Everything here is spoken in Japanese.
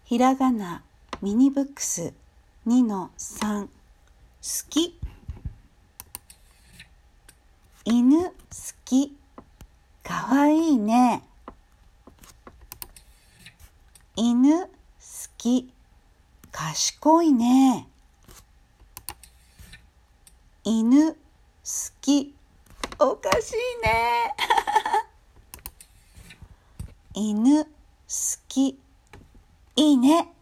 ひらがなミニブックス 2-3 好き。犬好き。かわいいね。犬好き。賢いね。犬好き。おかしいね。犬好き。いいね。